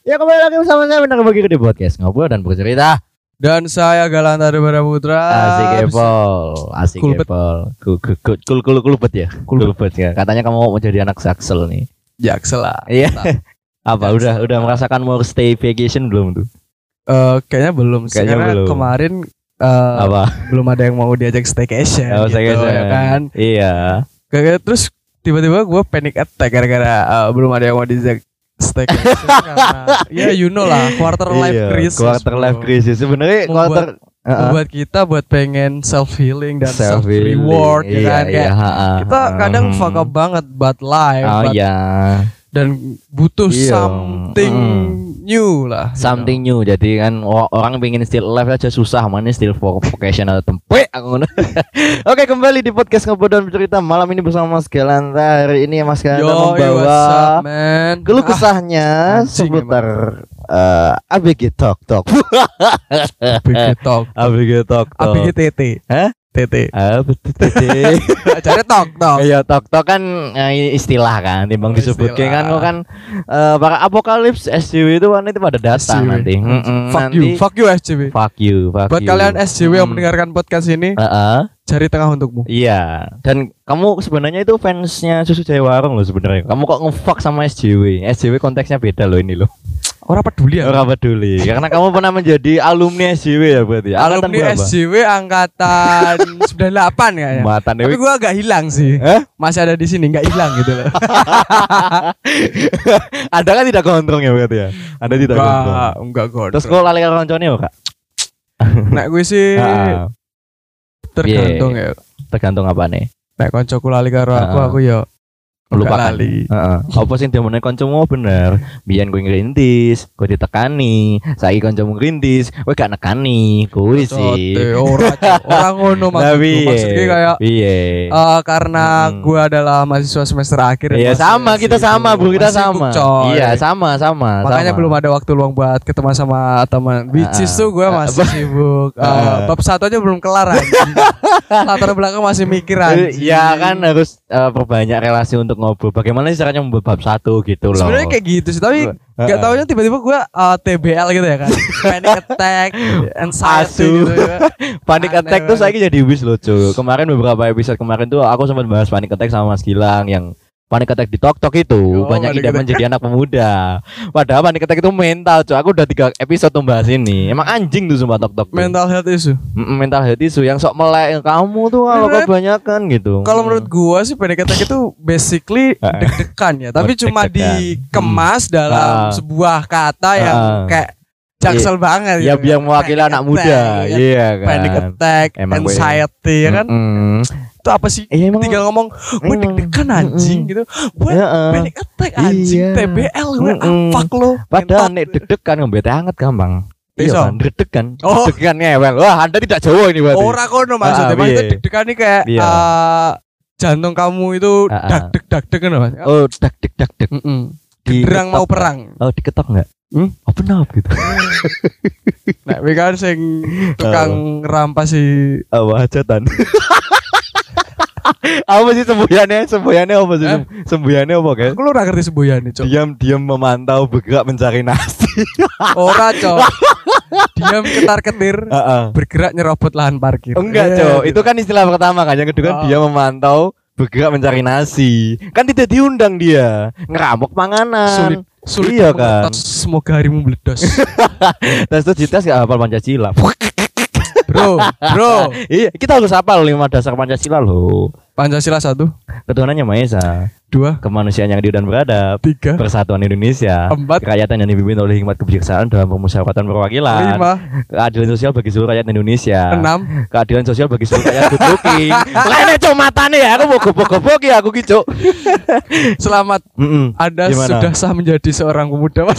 Ya kembali lagi bersama saya Benar Bagi di podcast Ngobrol dan Bercerita. Dan saya Galanta Debara Putra. Asik Epol. Asik Kulbet. Epol. Kulbet ya. Kulbet ya. Katanya kamu mau jadi anak Jaksel nih. Jaksel lah. Iya. Mantap. Apa udah merasakan mau stay vacation belum tuh? Kayaknya belum sih. Kayaknya Karena belum. kemarin Apa? belum ada yang mau diajak staycation Oh, gitu, staycation. ya kan. Iya. Kayak terus tiba-tiba gue panic attack gara-gara belum ada yang mau diajak staycation karena ya you know lah quarter life crisis. Quarter life bro. crisis sebenarnya quarter Membuat kita buat pengen self healing dan self self-healing. reward ya kan kayak kita kadang fuck up banget buat life Oh but- iya. dan butuh Iya. something new lah. you Something new. Jadi kan orang pengen still alive aja susah, mana still for vocational tempe aku ngono. Oke, kembali di podcast Ngobrol dan Bercerita malam ini bersama Mas Galanta. Hari ini Mas know. Galanta Yo, membawa what's up, man? keluh kesahnya anjing seputar ABG Talk Talk. ABG Talk. ABG Talk Talk. ABG TT. Hah? TT. Betul. Cari Talk Talk. Iya, Talk Talk kan istilah kan, timbang Oh, disebut istilah. kan kok kan para apokalips SJW itu kan itu pada datang SJW. nanti. Fuck Nanti- you. Fuck you SJW. Fuck you. Buat kalian SJW yang mendengarkan podcast ini, cari tengah untukmu. Iya, dan kamu sebenarnya itu fansnya Susu Jaya Warung loh sebenarnya. Kamu kok nge-fuck sama SJW? SJW konteksnya beda loh ini loh. Orang peduli ya. Orang peduli, karena kamu pernah menjadi alumni SJW ya berarti. Angkatan Alumni berapa? SJW angkatan 98 kayaknya. Matan Tapi Dewi. gua agak hilang sih. Masih ada di sini, nggak hilang gitu loh. Ada kan tidak gondrong ya berarti ya? Ada tidak gondrong. Enggak god. Terus kau lali karo koncone ya, Kak? Nek gue sih Ah, tergantung ya. tergantung apa nih? Nek koncoku lali karo aku ya Lupakan. lupa lali. Apa sih demone kancamu bener? Biyen kowe ngrintis, kowe ditekani, saiki kancamu ngrintis, kowe gak nekani. Kuwi sih. Orang ngono maksudku. Maksudnya kayak piye? karena gue adalah mahasiswa semester akhir. Iya masih sama, kita sibuk. sama bro, kita Masih sama. sibuk, coy. Iya sama. Makanya sama. belum ada waktu luang buat ketemu sama teman. Which is tuh gue masih sibuk. Bab satu aja belum kelar anjing. Latar belakang masih mikir anjing. Iya kan harus perbanyak relasi untuk ngobrol. Bagaimana sih caranya membuat bab satu gitu loh. Sebenarnya kayak gitu sih, tapi gak taunya tiba-tiba gue TBL gitu ya kan. Panic attack, Asu. anxiety gitu ya. Panic Aneh attack tuh banget. saya jadi wis lucu. Kemarin beberapa episode kemarin tuh aku sempat bahas panic attack sama Mas Gilang yang panic attack di Tok Tok itu banyak panic ide attack. menjadi anak pemuda. Padahal panic attack itu mental, cuy. Aku udah 3 episode tuh bahas ini. Emang anjing tuh sumpah Tok Tok. tuh. Mental health issue. Mental health issue yang sok melek kamu tuh kalau Sebenarnya, kebanyakan gitu. Kalau menurut gua sih panic attack itu basically deg-degan ya, tapi cuma deg-degan. dikemas dalam sebuah kata yang kayak jaksel banget ya gitu. biar mewakili Panic anak attack, muda, ya. iya kan. Panic attack, Emang gue- anxiety ya kan. Itu apa sih? Iya, emang- Tinggal ngomong gue emang. deg-degan anjing gitu. Gue Heeh. panic attack anjing, Iya. TBL gue fuck lo. Padahal nek deg-degan ngebete hangat gampang. Iya Iso. kan, deg-degan. Oh. Deg-degan ngewel. Wah, Anda tidak Jawa ini berarti. Ora kono maksudnya. Ah, Maksudnya iya. deg-degan nih kayak Iya. jantung kamu itu dak-deg kan Mas. Oh, deg-deg. Gerang mau perang. Oh, diketok enggak? Open up gitu. Nek kowe kan sing tukang rampas si Hajatan. Apa sih semboyannya? Semboyannya apa sih? Semboyannya apa, guys? aku lu ora ngerti semboyane, Cok. Diam-diam memantau, bergerak mencari nasi. Ora, Cok. Diam ketar-ketir, bergerak nyerobot lahan parkir. Enggak, Cok. Itu kan istilah pertama kan. Yang kedua kan dia memantau, bergerak mencari nasi. Kan tidak diundang dia. Ngeramuk panganan. sulit Iya kan. Semoga harimu meledos. Tes tuh jitas gak hafal Pancasila. Bro. Iya, kita harus hafal 5 dasar Pancasila loh. Pancasila 1, Ketuhanannya Maha Esa, 2, kemanusiaan yang adil dan beradab, 3, persatuan Indonesia, 4, kerakyatan yang dipimpin oleh hikmat kebijaksanaan dalam permusyawaratan perwakilan, 5, keadilan sosial bagi seluruh rakyat Indonesia, 6. keadilan sosial bagi seluruh rakyat good looking. Lainnya cok matane ya, aku mau gobok-gobok ya aku gitu. Selamat. Anda Gimana? sudah sah menjadi seorang pemuda.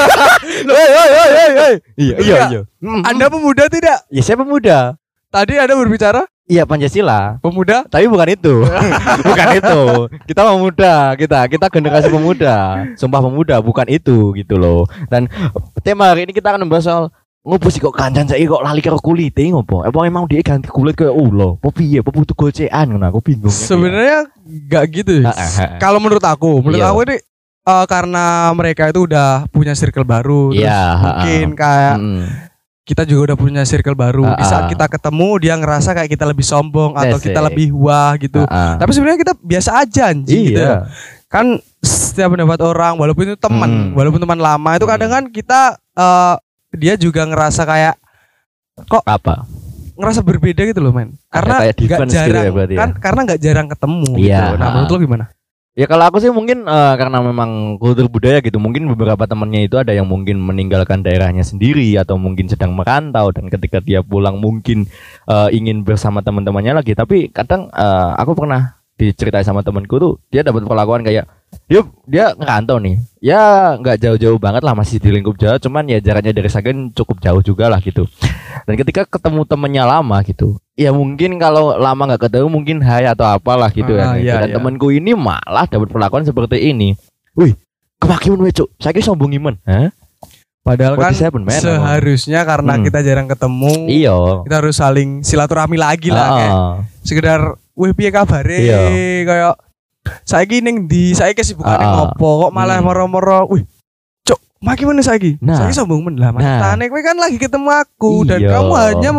Iya. Anda pemuda tidak? Ya saya pemuda. Tadi Anda berbicara Iya Pancasila. pemuda. Tapi bukan itu. Bukan itu. Kita pemuda, kita generasi pemuda. Sumpah pemuda bukan itu gitu loh. Dan tema hari ini kita akan membahas soal ngopo sih kok kancan saiki kok lali karo kulite ngopo? Apa emang dia ganti kulit kayak ulo? Apa piye? Apa butuh gocean ngono aku bingung. Sebenarnya enggak gitu. Kalau menurut aku Iya. ini karena mereka itu udah punya circle baru, terus mungkin kayak kita juga udah punya circle baru. Di saat kita ketemu dia ngerasa kayak kita lebih sombong atau kita lebih wah gitu. Tapi sebenarnya kita biasa aja anjing gitu. Kan setiap pendapat orang walaupun itu teman, walaupun teman lama itu kadang kan kita dia juga ngerasa kayak kok ngerasa berbeda gitu loh men. Karena nggak jarang gitu ya, kan karena nggak jarang ketemu gitu. Nah menurut lo gimana? Ya kalau aku sih mungkin karena memang kultur budaya gitu. Mungkin beberapa temannya itu ada yang mungkin meninggalkan daerahnya sendiri atau mungkin sedang merantau, dan ketika dia pulang mungkin ingin bersama teman-temannya lagi. Tapi kadang aku pernah diceritain sama temanku tuh, dia dapat perlakuan kayak dia ngerantau nih, ya nggak jauh-jauh banget lah, masih di lingkup Jawa, cuman ya jaraknya dari Sragen cukup jauh juga lah gitu. Dan ketika ketemu temennya lama gitu, ya mungkin kalau lama nggak ketemu mungkin hai atau apalah gitu dan temanku ini malah dapat perlakuan seperti ini. Wih, kemakiman wecuk, saya kira sombong iman, Padahal kan seharusnya karena kita jarang ketemu, kita harus saling silaturahmi lagi lah, kayak sekedar wih piye kabare, kayak saiki ning ndi, saiki kesibukane ngopo kok malah moro-moro wih cuk maki meneh saiki sombong men lah mantan kowe kan lagi ketemu aku dan kamu hanya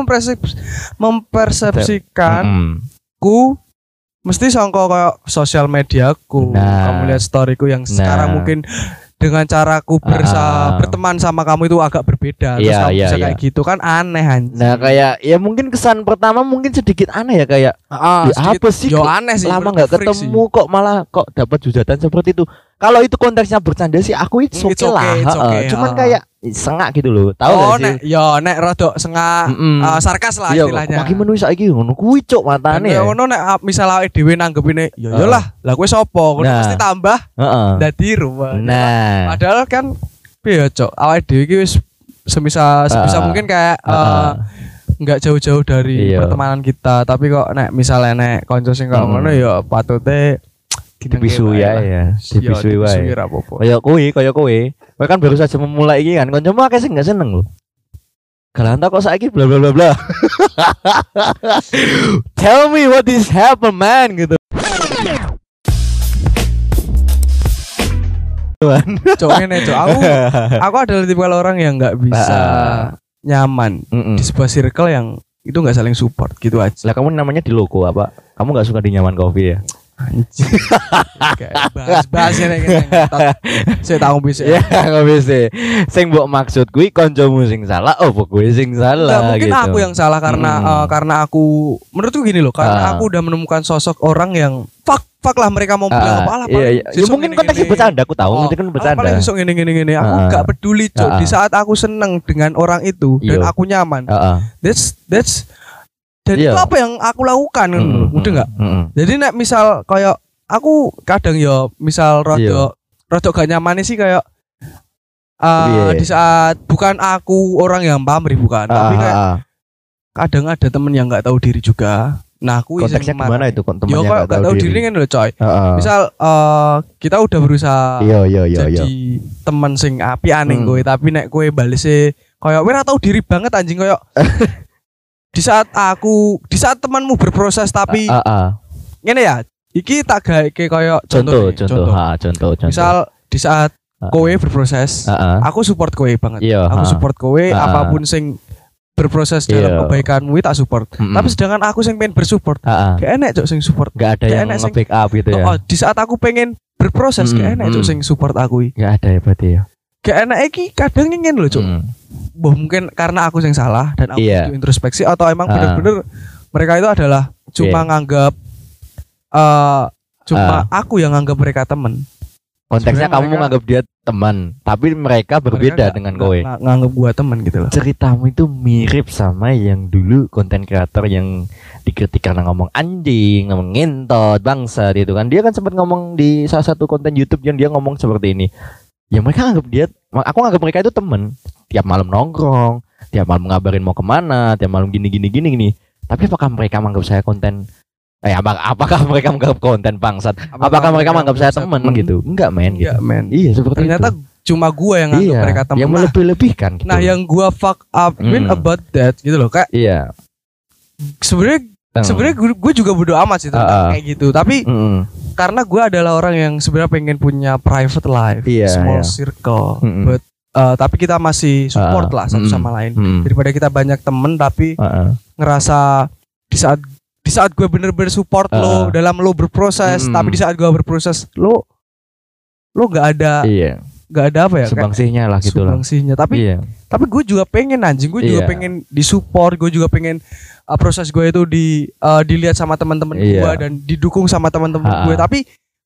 mempersepsikan ku mesti sangka kayak sosial mediaku, kamu lihat storyku yang sekarang mungkin dengan caraku berteman sama kamu itu agak berbeda. Terus kamu bisa kayak gitu kan aneh anjing. Nah kayak ya mungkin kesan pertama mungkin sedikit aneh ya, kayak apa sih aneh sih, lama nggak ketemu sih. Kok malah kok dapat hujatan seperti itu. Kalau itu konteksnya bercanda sih aku itu oke lah. Cuman kayak sengak gitu loh. Tahu gak sih? Nek rada sengak sarkas lah istilahnya. Makin menu saiki ngono kuwi cuk matane. Ya ngono nek misal awake dhewe nanggepine ya lah kowe sapa? Ngono mesti tambah dadi ruwet. Padahal kan piye cuk, awake dhewe iki wis sebisa mungkin kayak enggak jauh-jauh dari pertemanan kita, tapi kok nek misalnya nek kanca sing kok ngono ya patute dibisu ya dibisu wae. Kaya kowe kan baru saja memulai iki kan, kancamu akeh sing enggak seneng lho. Galanta kok saiki bla bla bla bla. Tell me what is happen man gitu. Cok ngene cok, aku adalah tipe orang yang enggak bisa nyaman di sebuah circle yang itu enggak saling support gitu aja. Lah kamu namanya di logo apa? Kamu enggak suka di nyaman coffee ya? Anjir. Bahas-bahasnya nek saya tahu bisa. Ya, enggak bisa. Sing mbok maksud kuwi kancamu sing salah, opo kowe sing salah mungkin gitu. Aku yang salah karena aku menurutku gini loh, karena aku udah menemukan sosok orang yang fuck lah mereka mau bilang apa lah. Ya mungkin konteksnya bercanda, aku tahu mungkin kan bercanda. Paling besok gini. Aku enggak peduli, Cok. Di saat aku seneng dengan orang itu dan aku nyaman. That's dan itu apa yang aku lakukan udah enggak? Jadi nek misal kayak aku kadang ya misal rada gak nyaman sih kayak di saat bukan aku orang yang pamrih bukan, tapi kayak kadang ada temen yang nggak tahu diri juga. Nah aku konteksnya gimana itu temennya nggak tahu diri kan loh coy. Misal kita udah berusaha jadi teman sing api aneh kowe, tapi nek kowe balese kayak kowe ora tahu diri banget anjing kayak di saat temanmu berproses tapi ngene ya iki tak gaeke koyo contoh. Misal di saat kowe berproses aku support kowe banget. Aku support kowe apapun sing berproses dalam kebaikanmu tak support. Tapi sedangkan aku sing pengen bersupport gak enak cok sing support. Gak ada yang nge-backup gitu ya. Di saat aku pengen berproses gak enak cok sing support aku. Gak ada ya berarti ya. Gak enak iki kadang ingin loh cok. Mungkin karena aku yang salah dan aku butuh introspeksi atau emang bener-bener mereka itu adalah cuma nganggap aku yang nganggap mereka teman. Konteksnya kamu menganggap dia teman, tapi mereka berbeda dengan kowe. Nganggap gua teman gitu loh. Ceritamu itu mirip sama yang dulu konten kreator yang dikritik karena ngomong anjing, ngomong ngentot, bangsa gitu kan. Dia kan sempat ngomong di salah satu konten YouTube yang dia ngomong seperti ini. Ya mereka anggap aku anggap mereka itu teman. Tiap malam nongkrong, tiap malam ngabarin mau kemana, tiap malam gini. Tapi apakah mereka menganggap saya konten? Apakah mereka menganggap konten bangsat? Apakah mereka menganggap saya teman gitu? Enggak men gitu. Iya seperti ternyata itu. Cuma gua yang anggap mereka teman. Yang melebih-lebihkan gitu. Nah yang gua fuck up about that gitu loh kayak. Iya. Sebenarnya gue juga bodo amat sih tentang kayak gitu. Tapi karena gue adalah orang yang sebenarnya pengen punya private life, small circle, but tapi kita masih support lah satu sama lain. Daripada kita banyak temen tapi ngerasa di saat gue bener-bener support lo dalam lo berproses, tapi di saat gue berproses lo nggak ada apa ya, subangsihnya lah gitu lah. Subangsihnya. Tapi gue juga pengen anjing, gue juga pengen disupport, gue juga pengen proses gue itu dilihat sama teman-teman gue dan didukung sama teman-teman gue. Tapi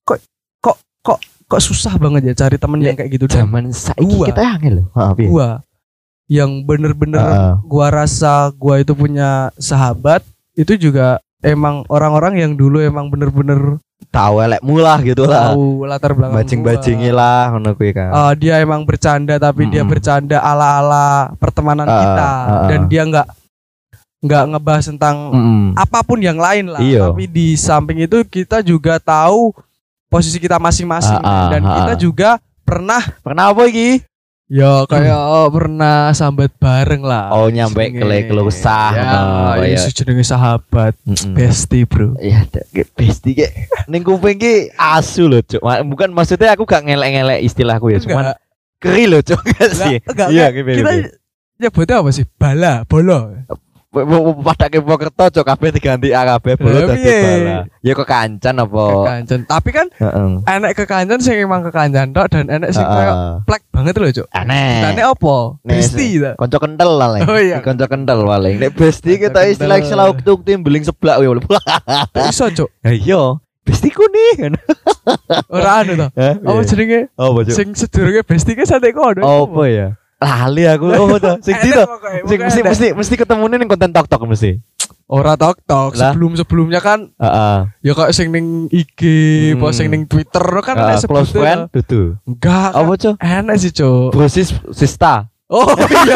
kok susah banget ya cari temen yang kayak gitu. Zaman saiki kita angel loh. Gue yang bener-bener gue rasa gue itu punya sahabat itu juga emang orang-orang yang dulu emang bener-bener tahu elekmu lah gitu lah. Tahu latar belakang bajing-bajingi lah ngono kuwi kan. Dia emang bercanda tapi dia bercanda ala-ala pertemanan kita dan dia enggak ngebahas tentang apapun yang lain lah. Tapi di samping itu kita juga tahu posisi kita masing-masing dan kita juga pernah apa iki? Ya kayak pernah sambat bareng lah. Oh nyampe keluh kesah. Ya jenenge sahabat, bestie bro. Iya, bestie ki ning kuping ki asu lho, Cuk. Bukan maksudnya aku gak ngelek-ngelek istilahku ya, cuman keri lho, Cuk. Iya, kita nyebutnya apa sih? Bolo. Pada ke Pokerto cok kabeh diganti kabeh bolo dadi bala. Ya kekancan apa? Kekancan. Tapi kan enek kekancan sing emang kekancan tok dan enek sing koyo plek banget lho, Cuk. Aneh. Enek apa? Besti ta. Kanca kental lah. Oh iya. Kanca kental paling. Nek besti kita istilah waktu beling seblak kowe. Iso, Cuk. Ya iya. Bestiku nih. Ora anu to. Apa jenenge? Apa, Cuk? Sing sedurunge besti ki sate kono. Apa ya? Lali aku. Oh to. Sing di to. Sing mesti ketemune ning konten tok mesti. Ora tok sebelumnya kan ya kok sing ning IG, apa sing ning Twitter kan ada close friend dudu. Enggak. Apa, Cuk? Enak sih, Cuk. Brosis Sista. Oh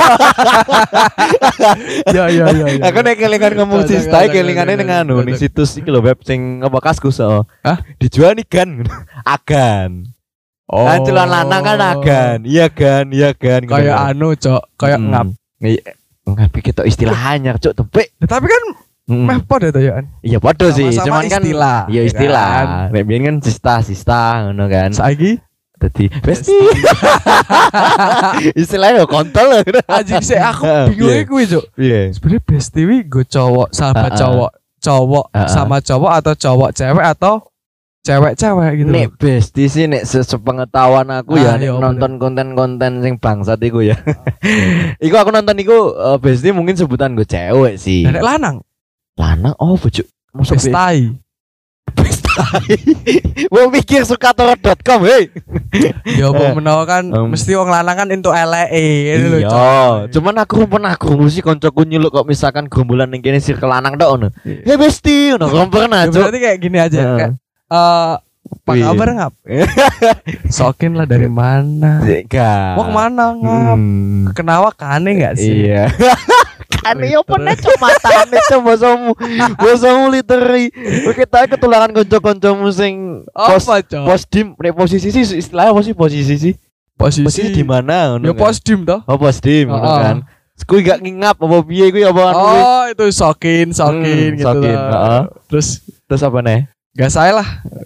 iya. Ya. Aku nek kelingan ngomong Sista kelingane ning anu ning situs iki lho web sing apa Kaskus. Hah? Dijual nih kan. Agan. Oh. Celana lanang kan agan. Iya kan. Kayak anu, Cok. Kayak ngap. Ngap kita istilah anyar, Cok, tepek. Tapi kan meh padha to ya. Iya padha sih, cuman kan istilah. Iya istilah. Nek biyen kan sista ngono kan. Saiki dadi besti. Istilahnya kontol lho. Anjing sik aku bingung kuwi, Cok. Iya. Sebenarnya besti wi go cowok, sahabat cowok sama cowok atau cowok cewek atau cewek-cewek gitu. Nek besti sih nek sepengetahuan aku ya nonton konten-konten sing bangsat iku ya. Iku aku nonton iku besti mungkin sebutan gue cewek sih. Nek lanang oh bojo pestai. Mau mikir sukator.com hei. Ya apa menawa kan mesti wong lanang kan entuk eleke ngono lho. Iya, cuman aku pernah krungu sih koncoku nyeluk kok misalkan gombolan ning kene circle lanang tok ngono. Ya besti ngono pernah. Berarti kayak gini aja kayak apa kabar ngap? Sokin lah dari mana? Mau kemana ngap? Kenawa kane nggak sih? Iya. Kane yo pernah cuma matane coba bosomu literally. Kita ketularan konco-koncomu sing posdim nek posisi sih istilahnya apa sih posisi sih? Posisi di mana ngono? Ya posdim toh. Oh posdim ngono kan. Kuwi gak ngingap apa piye kuwi apa anu? Oh itu sokin gitu. Sokin, terus apa nih? Gak saya lah.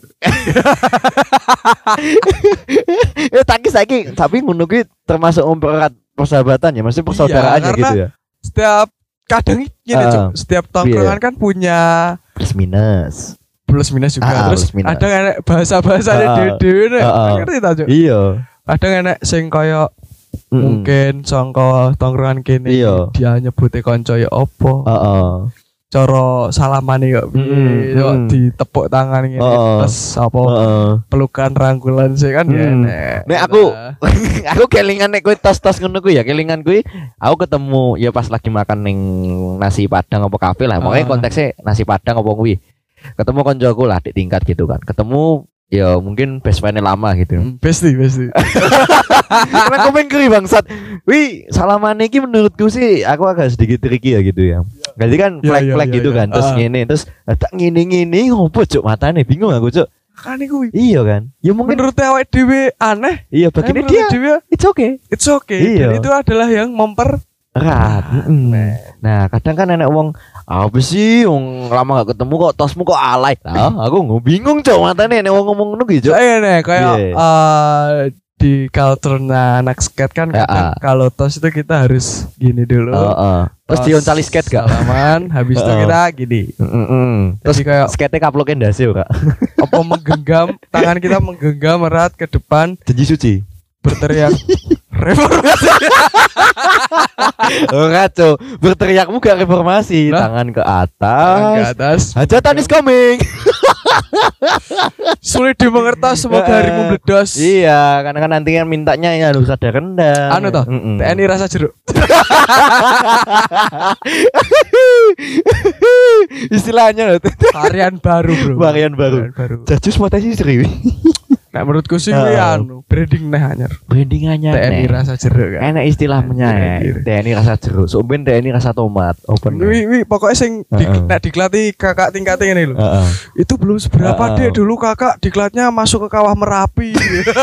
Tapi ngono kuwi termasuk mempererat persahabatan ya, maksudnya persaudaraannya iya, gitu ya. Setiap kadang gini setiap tongkrongan kan punya plus minus juga. Terus ada enek bahasa-bahasane dhewe-dhewe ngerti ta, Cuk? Iya. Kadang enek sing koyo mungkin sangka tongkrongan kene dia nyebute kanca ya apa? Cara salamane kok piye yo ditepuk tangan ngene terus apa pelukan rangkulan sih kan ya nek aku kelingan nek kowe tos-tos ngono kuwi ya kelingan kuwi aku ketemu ya pas lagi makan ning nasi padang apa kafe lah pokoknya konteksnya nasi padang apa kuwi ketemu koncoku lah di tingkat gitu kan ketemu ya mungkin best friend lama gitu. Besti. Karena aku pengen bangsat. Wih, salamane iki menurutku sih aku agak sedikit tricky ya gitu ya. Jadi kan flag gitu kan terus ngene terus tak ngene ngopo Cuk matane bingung aku Cuk. Kan iku. Iya kan? Ya mungkin menurut awake dhewe aneh. Iya begini dia. It's okay. Iya. Dan itu adalah yang mempererat. Nah, kadang kan enek wong Apa sih wong lama gak ketemu kok tosmu kok alay. Lah aku bingung cok matane nek wong ngomong ngono ki cok. Kayak di culture anak skate kan kalau tos itu kita harus gini dulu. Terus dioncali skate gak? Salaman, habis itu kita gini. Terus kayak skate kaploke ndase Kak. Apa menggenggam tangan kita menggenggam erat ke depan janji suci. Berteriak reformasi. Ora cok, berteriakmu gak reformasi, tangan ke atas. Hajatan is coming. Sulit dimengerti semoga harimu meledos. Iya, karena kan nanti kan mintanya ya harus ada rendang. Anu toh, TNI rasa jeruk. Istilahnya loh. Varian baru, bro. Varian baru. Jajus mata sih serius. Nah menurutku sih anu branding anyar. Branding anyar. TNI rasa jeruk kan. Enak istilahnya ya. TNI rasa jeruk. Soben TNI rasa tomat. Open. Wi pokoknya sing diklati kakak tingkatnya ini loh. Itu belum seberapa deh dulu kakak diklatnya masuk ke kawah Merapi.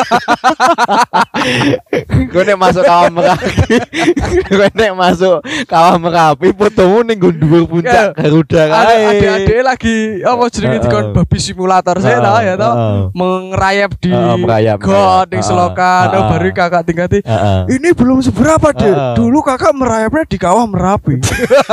Gue nek masuk kawah Merapi. Gue nek masuk kawah Merapi fotomu ning dhuwur puncak Garuda kae. Adik-adik lagi apa jenenge dikon babi simulator saya tahu ya tahu mengerayap di got di selokan baru kakak tingkati ini belum seberapa deh dulu kakak merayapnya di kawah Merapi.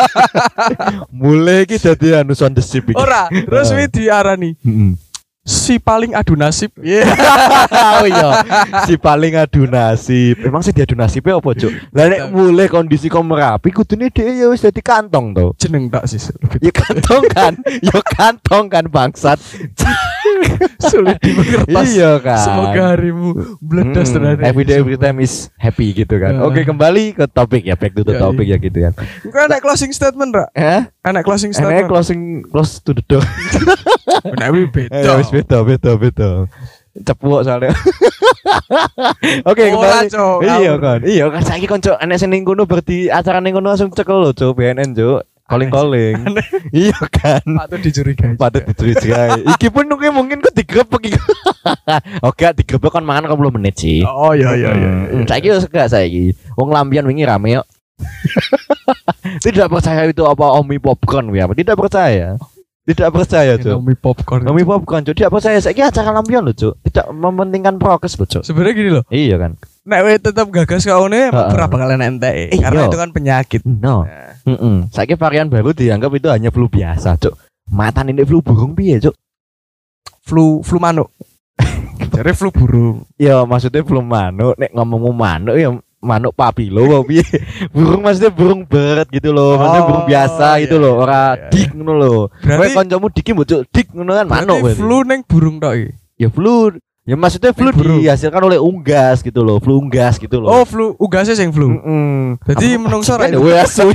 Mulai iki dadi anu sound the ship iki ora terus wi diarani si paling adu nasib. Oh iya, si paling adu nasib. Emang sih diadu nasibnya apa, Cuk? Lah nek mulai kondisi kok Merapi kudune dhek ya wis dadi kantong to. Jeneng tak sih. Ya kantong kan bangsat. Sulit dimengerti. Iya kan. Semoga harimu meledos terus. Every time is happy gitu kan. Oke, kembali ke topik ya, back to the topic ya gitu kan. Engko ada closing statement, Ra? Anak closing statement. Close to the door. Nek beda. Cepuk soalnya. Oke, kembali. Iya kan saiki konco enek sing ning kono berarti acara ning kono langsung cekel lho, Cuk, BNN, Cuk. Calling. Iya kan. Patut dicurigai. Iki pun mungkin kok digrebek iki. Oke, digrebek kan mangan 20 menit sih. Oh iya. Saiki wis gak saiki. Wong lambian wingi rame kok. Tidak percaya itu apa Omi popcorn ya? Tidak percaya, Cuk. Omi popcorn, Cuk. Tidak percaya. Saiki acara lampion lho, Cuk. Tidak mementingkan prokes lho, Cuk. Sebenarnya gini loh. Iya kan. Nek we tetap gagas kau ini berapa kalian ente? Karena itu kan penyakit. No. Saiki varian baru dianggap itu hanya flu biasa, Cuk. Matan ini flu burung piye, Cuk? Flu manuk. Jadi flu burung. Ya maksudnya flu manuk. Nek ngomong manuk ya manuk papilo apa piye? Burung maksudnya burung bird gitu loh. Maksudnya burung biasa gitu loh. Ora dik ngono lho. Kowe kancamu dik mbok Cuk, dik ngono kan manuk. Flu ning burung tok iki. Ya flu. Ya maksudnya flu dihasilkan oleh unggas gitu loh. Flu unggas gitu loh. Oh, flu unggasnya sing flu. Jadi menungso ra asu.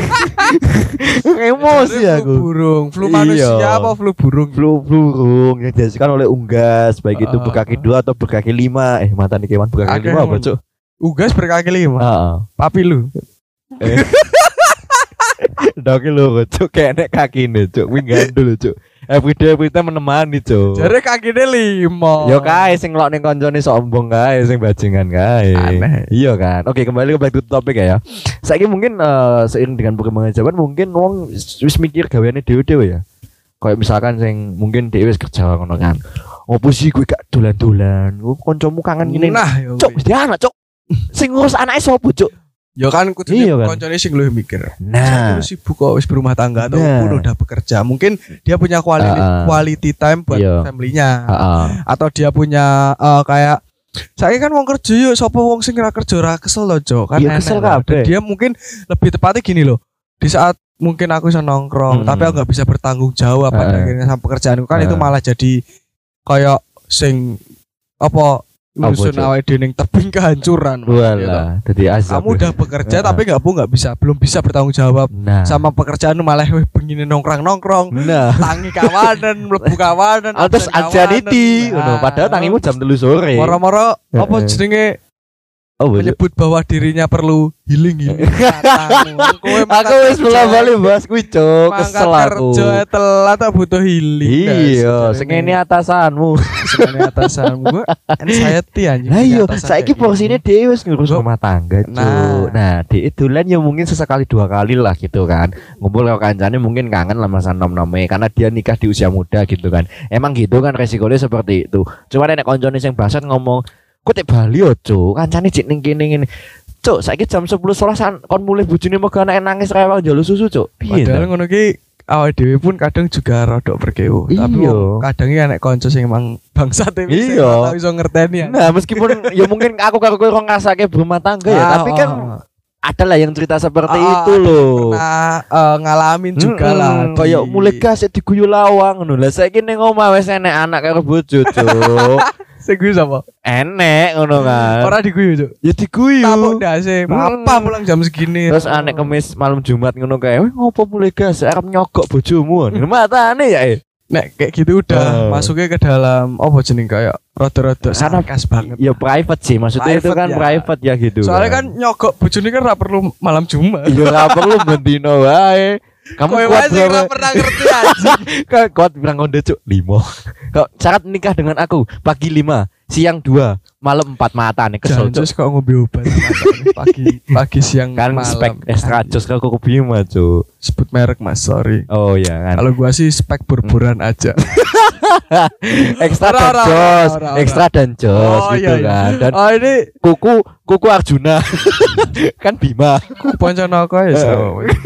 Emosi aku. Flu manusia apa flu burung? Flu burung yang dihasilkan oleh unggas, baik itu berkaki 2 atau berkaki 5. Mantan kewan berkaki 5 apa, Cuk? Unggas berkaki 5. Papi lu. Doki lu, Cuk, kayak nek kakine, Cuk. Kuwi gandul, Cuk. Every time menemani, Cuk. Jare kakine 5. Yo kae sing ngelok ning koncone sombong kae, sing bajingan kae. Iya kan. Oke, kembali ke back to topic ya. Saiki mungkin seiring dengan perkembangan zaman mungkin wong wis mikir gaweane dhewe-dhewe ya. Kayak misalkan sing mungkin dhewe wis kerja ngono kan. Opo sih kowe gak dolan-dolan? Kancamu kangen ngene. Nah, Cuk, mesti anak, Cuk. Sing ngurus anake sapa, Cuk? Ya kan kudune koncone sing luwih mikir. Nah, sibuk kok wis berumah tangga atau pun udah bekerja. Mungkin dia punya quality time buat family-nya. Atau dia punya kayak saya kan wong kerja yuk sapa wong sing ora kerja ora kesel lho, Cok. Kan kesel kabeh. Dia mungkin lebih tepatnya gini loh. Di saat mungkin aku bisa nongkrong, tapi aku enggak bisa bertanggung jawab pada akhirnya sama pekerjaanku kan itu malah jadi kayak sing apa Nusun awake dhewe tebing kehancuran. Walah, dadi azab. Kamu udah bekerja tapi belum bisa bertanggung jawab sama pekerjaanmu malah begini nongkrong. Tangi kawanan, mlebu kawanan. Terus anxiety ngono, padahal tangimu jam 3 sore. Moro-moro apa jenenge menyebut bahwa dirinya perlu healing. Aku wis bola-bali bahas kuwi, Cuk. Kesel aku. Kerja telat tak butuh healing. Iya, sing ngene atasanmu. Gue anxiety anjing. Lah iya, saiki porsine dhewe wis ngurus rumah tangga, Cuk. Nah, dhek dolan ya mungkin sesekali 2 kali lah gitu kan. Ngumpul karo kancane mungkin kangen lah masa nom-nome karena dia nikah di usia muda gitu kan. Emang gitu kan resikonya seperti itu. Cuma nek koncone sing bangsat ngomong kok tek Bali yo, Cuk. Kancane cek ning kene ngene. Cuk, saiki jam 10.00 kon mulih bojone mega anake nangis rewel njaluk susu, Cuk. Padahal ngono ki awake dhewe pun kadang juga rodok berkeuh. Tapi kadang ya nek kanca sing emang bangsat iya iso ngerteni ya. Nah, meskipun ya mungkin aku karo kowe ngrasake berumah tangga ya, tapi kan ada lah yang cerita seperti itu loh. Pernah ngalamin juga lah. Kayak mulai gas diguyu lawang ngono. Lah saiki ning omah wis enek anak karo bojo, Cuk. Sing guyu sapa? Enek ngono kan. Ora diguyu, Cuk. Ya diguyu. Tapuk ndase. Apa pulang jam segini. Terus anek kemis malam Jumat ngono kae. Ngopo mulai gas arep nyogok bojomu. Matane ya. Nek kayak gitu udah masuknya ke dalam apa jeneng kayak rada-rada sarkas banget. Ya private sih, maksudnya private itu kan ya. Private ya gitu. Soalnya kan nyogok bojone kan ora perlu malam Jumat. Iya ora perlu bendino wae. Kamu kuat berapa? Pernah ngerti aja. Kuat bilang konde, Cuk, 5. Kau syarat nikah dengan aku pagi 5, siang 2, malam 4 mata nih kesel, Cuk. Jangan kok ngombe obat pagi siang kan malam. Spek extra jos kau Bima, Cuk. Sebut merek Mas, sorry. Oh iya kan. Kalau gua sih spek burburan aja. Ekstra dan jos, ekstra dan jos gitu kan. Dan ini kuku Arjuna. Kan Bima. Poncanaka ya.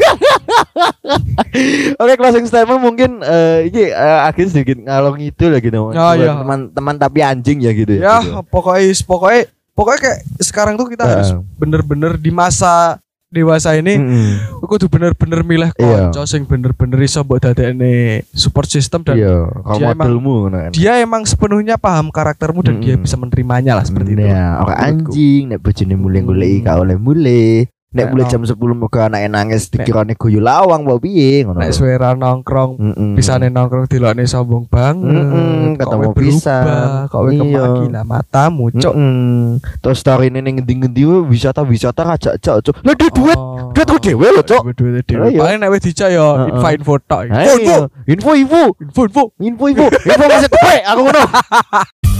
Oke, closing statement mungkin ini akhirnya sedikit ngalor ngidul gitu. Teman-teman tapi anjing ya gitu ya. Ya, gitu. pokoknya kayak sekarang tuh kita harus bener-bener di masa dewasa ini kudu bener-bener milih kanca sing bener-bener iso mbok dadekne support system dan dia emang sepenuhnya paham karaktermu dan dia bisa menerimanya lah seperti itu. Ya, ora anjing nek bojone mulih goleki ka oleh mulih. Nek mulai jam 10 moga anake nangis dikirane guyu lawang mbok piye ngono. Nek suara nongkrong bisane nongkrong dilokne sombong banget. Ketemu bisa. Kok kemaki lah matamu, Cuk. Terus story ning ngendi-ngendi wisata rajak-jak, Cuk. Lah duit ku dhewe lho, Cuk. Duit dhewe. Paling nek wis dicak ya info tok. Info. Info masih kowe aku ngono.